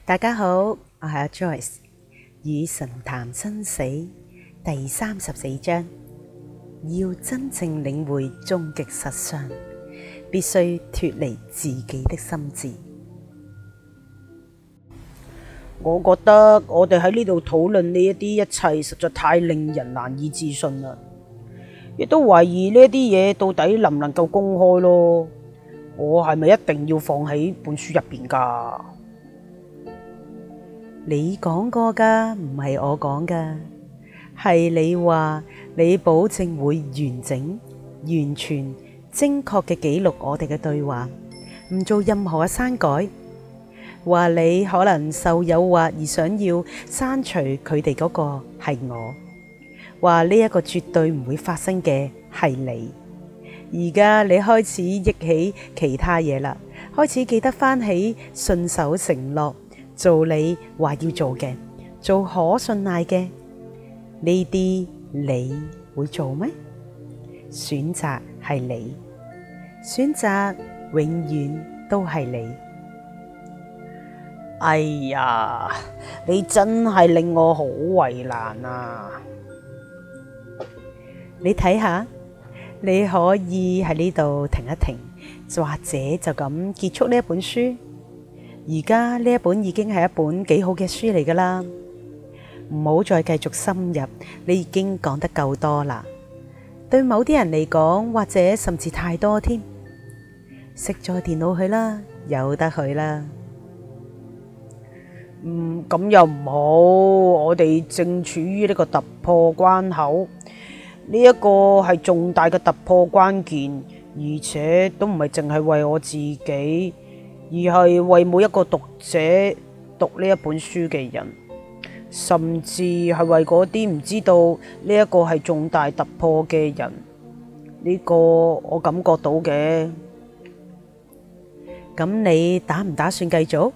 大家好，我係阿 Joyce， 與神談生死第34章，要真正領會終極實相，必須脫離自己的心智。 我覺得我哋喺呢度討論呢一啲一切，實在太令人難以置信啦，亦都懷疑呢啲嘢到底能唔能夠公開咯？我係咪一定要放喺本書入邊噶？ 你講過噶，唔係我講噶，係你話你保證會完整、完全、精確嘅記錄我哋嘅對話，唔做任何嘅刪改。話你可能受誘惑而想要刪除佢哋嗰個係我，話呢一個絕對唔會發生嘅係你。而家你開始憶起其他嘢啦，開始記得翻起信守承諾，做你話要做嘅，做可信賴嘅，呢啲你會做咩？選擇係你，選擇永遠都係你。 哎呀，你真係令我好為難啊！ 你睇下，你可以喺呢度停一停，或者就咁結束呢一本書。而家呢一本已經係一本幾好嘅書嚟噶啦，唔好再繼續深入，你已經講得夠多啦。對某啲人嚟講，或者甚至太多添，熄咗電腦去啦，由得佢啦。 咁又唔好，我哋正處於呢個突破關口，呢一個係重大嘅突破關鍵，而且都唔係淨係為我自己，而係為每一個讀者讀呢一本書嘅人，甚至係為嗰啲唔知道呢一個係重大突破嘅人，呢個我感覺到嘅。 咁你打唔打算繼續？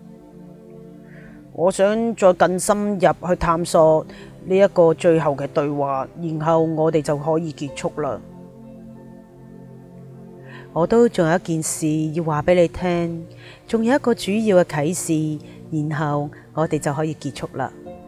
我想再更深入去探索呢一個最後嘅對話，然後我哋就可以結束啦。 我都仲有一件事要話俾你聽，仲有一個主要嘅啟示，然後我哋就可以結束啦。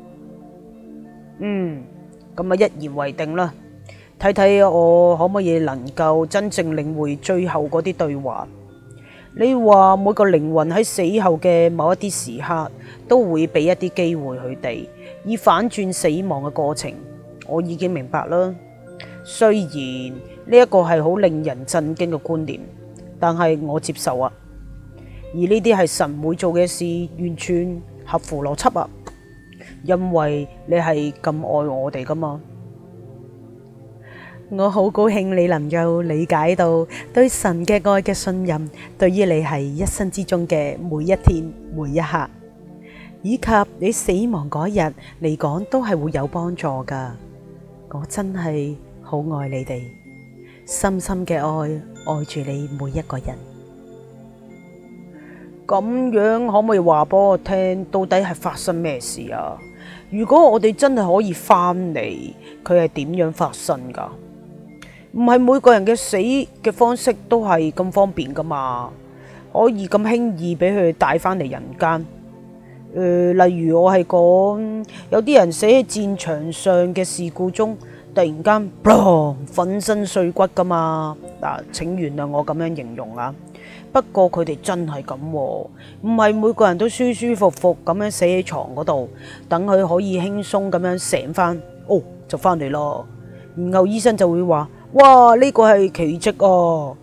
咁啊，一言為定啦。睇睇我可唔可以能夠真正領會最後嗰啲對話。你話每個靈魂喺死後嘅某一啲時刻，都會俾一啲機會佢哋，以反轉死亡嘅過程。我已經明白啦。雖然呢一個係好令人震驚嘅觀念，但係我接受啊。而呢啲係神會做嘅事，完全合乎邏輯啊。因為你係咁愛我哋噶嘛。 我好高興你能夠理解到對神嘅愛嘅信任，對於你係一生之中嘅每一天每一刻，以及你死亡嗰日嚟講都係會有幫助噶。我真係好愛你哋，深深嘅愛住你每一個人。 咁樣可唔可以話俾我聽，到底係發生咩事啊？如果我哋真係可以翻嚟，佢係點樣發生噶？唔係每個人嘅死嘅方式都係咁方便噶嘛，可以咁輕易俾佢帶翻嚟人間。例如我係講有啲人死喺戰場上嘅事故中，突然間粉身碎骨噶嘛。嗱，請原諒我咁樣形容啊。不過佢哋真係咁，唔係每個人都舒舒服服咁樣死喺床嗰度，等佢可以輕鬆咁樣醒翻，就翻嚟咯。然後醫生就會話：哇，呢個係奇蹟啊！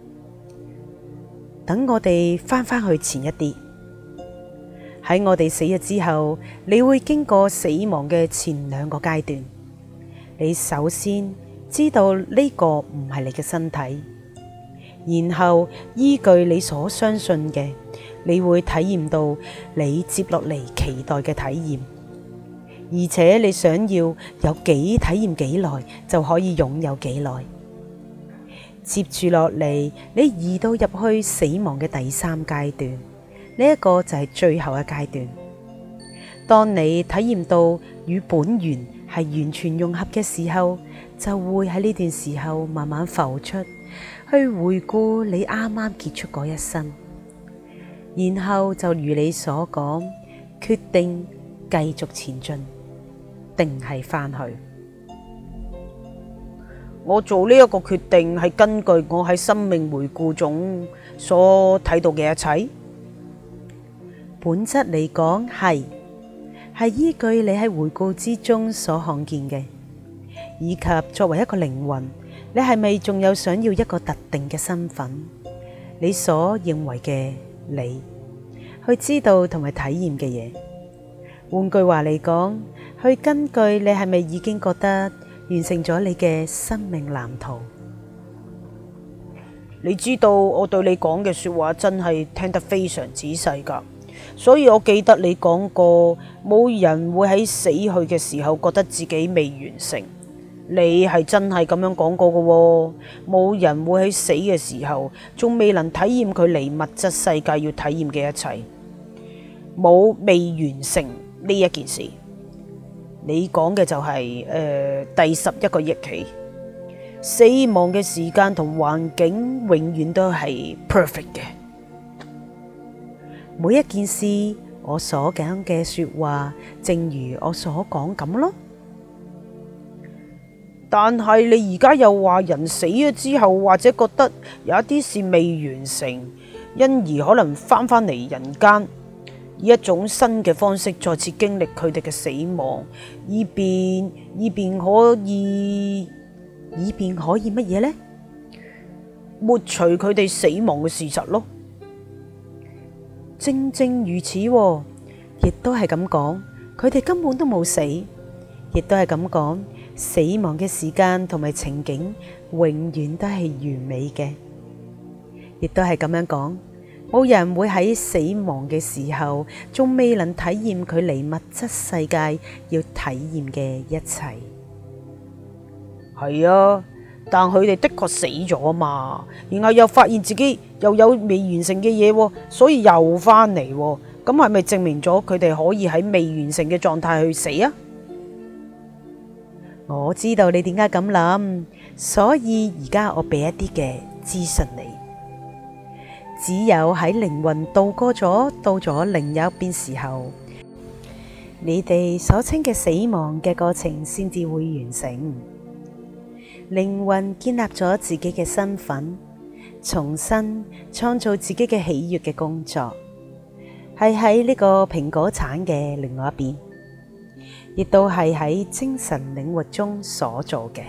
等我哋翻去前一啲，喺我哋死咗之後，你會經過死亡嘅前2個階段。你首先知道呢個唔係你嘅身體，然後依據你所相信嘅，你會體驗到你接落嚟期待嘅體驗，而且你想要有幾體驗幾耐就可以擁有幾耐。接住落嚟，你移到入去死亡嘅第3階段，呢一個就係最後嘅階段。當你體驗到與本源係完全融合嘅時候，就會喺呢段時候慢慢浮出，去回顧你啱啱結束嗰一生，然後就如你所講， 決定繼續前進，定係返去？ 我做呢一個決定係根據我喺生命回顧中所睇到嘅一切。 本質嚟講係依據你喺回顧之中所看見嘅，以及作為一個靈魂，你係咪仲有想要一個特定嘅身份？你所認為嘅你，去知道同埋體驗嘅嘢。換句話嚟講，去根據你係咪已經覺得完成咗你嘅生命藍圖。 你知道我對你講嘅說話真係聽得非常仔細㗎，所以我記得你講過，冇人會喺死去嘅時候覺得自己未完成。你係真係咁樣講過㗎喎，冇人會喺死嘅時候仲未能體驗佢離物質世界要體驗嘅一切，冇未完成呢一件事。你講嘅就係第11個憶起，死亡嘅時間同環境永遠都係 perfect 嘅。 每一件事，我所講嘅說話，正如我所講咁咯。 但係你而家又話人死咗之後，或者覺得有一啲事未完成，因而可能翻嚟人間，以一種新嘅方式再次經歷佢哋嘅死亡，以便可以乜嘢呢？抹除佢哋死亡嘅事實咯。 正如此，亦都係咁講，佢哋根本都冇死，亦都係咁講，死亡嘅時間同埋情景永遠都係完美嘅，亦都係咁樣講，冇人會喺死亡嘅時候仲未能體驗佢離物質世界要體驗嘅一切。 係啊，但佢哋的確死咗啊嘛，然後又發現自己又有未完成嘅嘢，所以又翻嚟，咁係咪證明咗佢哋可以喺未完成嘅狀態去死啊？ 我知道你點解咁諗，所以而家我俾一啲嘅資訊你。只有喺靈魂渡過咗到咗另一邊時候，你哋所稱嘅死亡嘅過程先至會完成。靈魂建立咗自己嘅身份，重新創造自己嘅喜悅嘅工作，係喺呢個蘋果橙嘅另外一邊，亦都係喺精神領域中所做嘅。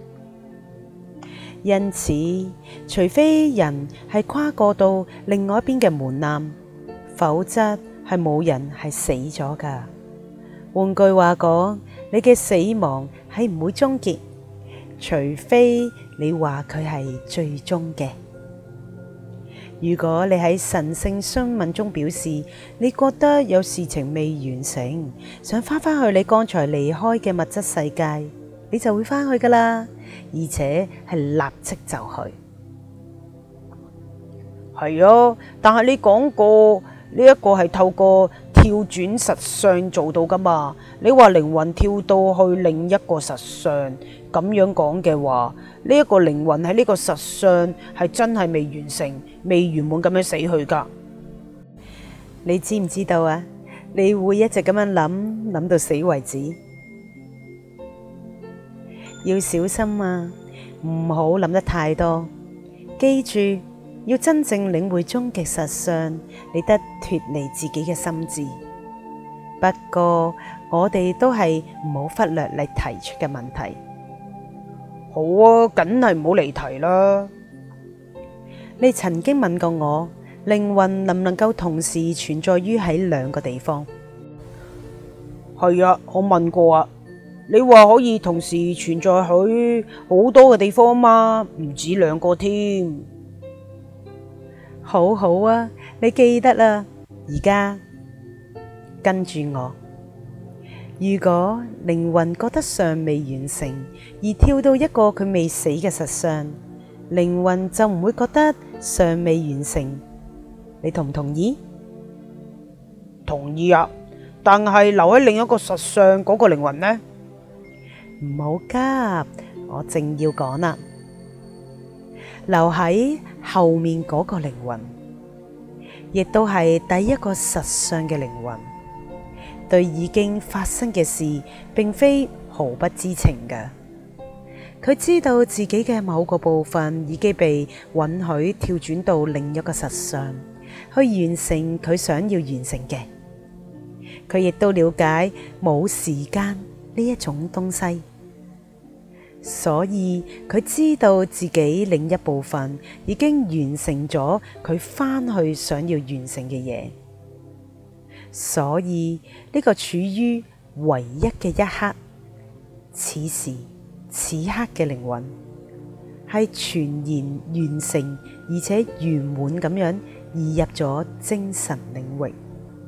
因此，除非人係跨過到另外一邊嘅門檻，否則係冇人係死咗㗎。換句話講，你嘅死亡係唔會終結，除非你話佢係最終嘅。如果你喺神聖詢問中表示你覺得有事情未完成，想返去你剛才離開嘅物質世界，你就會返去㗎喇，而且係立即就去。 係啊，但係你講過呢一個係透過跳轉實相做到㗎嘛？你話靈魂跳到去另一個實相，咁樣講嘅話，呢一個靈魂喺呢個實相係真係未完成、未圓滿咁樣死去㗎。 你知唔知道啊？你會一直咁樣諗到死為止。要小心啊，唔好諗得太多。記住，要真正領會終極實相，你得脫離自己嘅心智。不過，我哋都係唔好忽略你提出嘅問題。 好啊，梗係唔好離題啦。 你曾經問過我，靈魂能唔能夠同時存在於喺兩個地方？ 係啊，我問過啊。你話可以同時存在喺好多嘅地方嘛？唔止兩個添。 好好啊，你記得啦。而家跟住我。如果靈魂覺得尚未完成，而跳到一個佢未死嘅實相，靈魂就唔會覺得尚未完成。你同唔同意？ 同意啊。但係留喺另一個實相嗰個靈魂呢？ 唔好急，我正要講啦。留喺後面嗰個靈魂，亦都係第一個實相嘅靈魂， 對已經發生嘅事並非毫不知情嘅。佢知道自己嘅某個部分已經被允許跳轉到另一個實相，去完成佢想要完成嘅。佢亦都了解冇時間呢一種東西，所以佢知道自己另一部分已經完成咗佢返去想要完成嘅嘢。所以呢個處於唯一嘅一刻，此時此刻嘅靈魂係全然完成而且圓滿咁樣移入咗精神領域。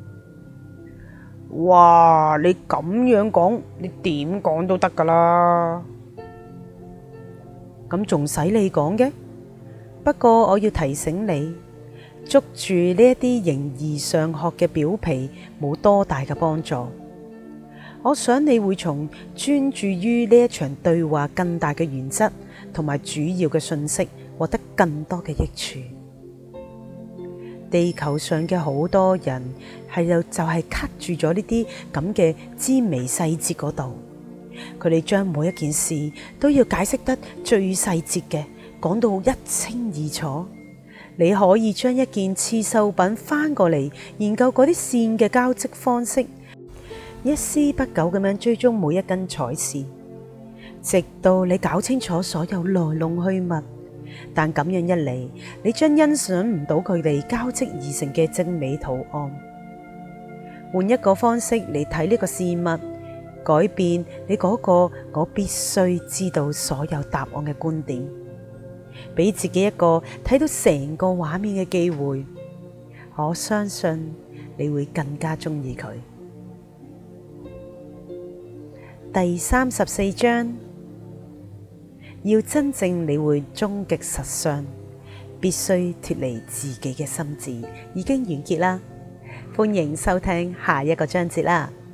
哇！你咁樣講，你點講都得噶啦。 咁仲使你講嘅？不過我要提醒你，捉住呢一啲形而上學嘅表皮冇多大嘅幫助。我想你會從專注於呢一場對話更大嘅原則同埋主要嘅信息獲得更多嘅益處。地球上嘅好多人就係卡住咗呢啲咁嘅枝微細節嗰度，佢哋將每一件事都要解釋得最細節嘅，講到一清二楚。你可以將一件刺繡品翻過嚟，研究嗰啲線嘅交織方式，一絲不苟咁樣追蹤每一根彩線，直到你搞清楚所有來龍去脈。但咁樣一嚟，你將欣賞唔到佢哋交織而成嘅精美圖案。換一個方式嚟睇呢個事物，改變你嗰個我必須知道所有答案嘅觀點，俾自己一個睇到成個畫面嘅機會。我相信你會更加鍾意佢。第34章，要真正理會終極實相，必須脫離自己嘅心智，已經完結啦。歡迎收聽下一個章節啦。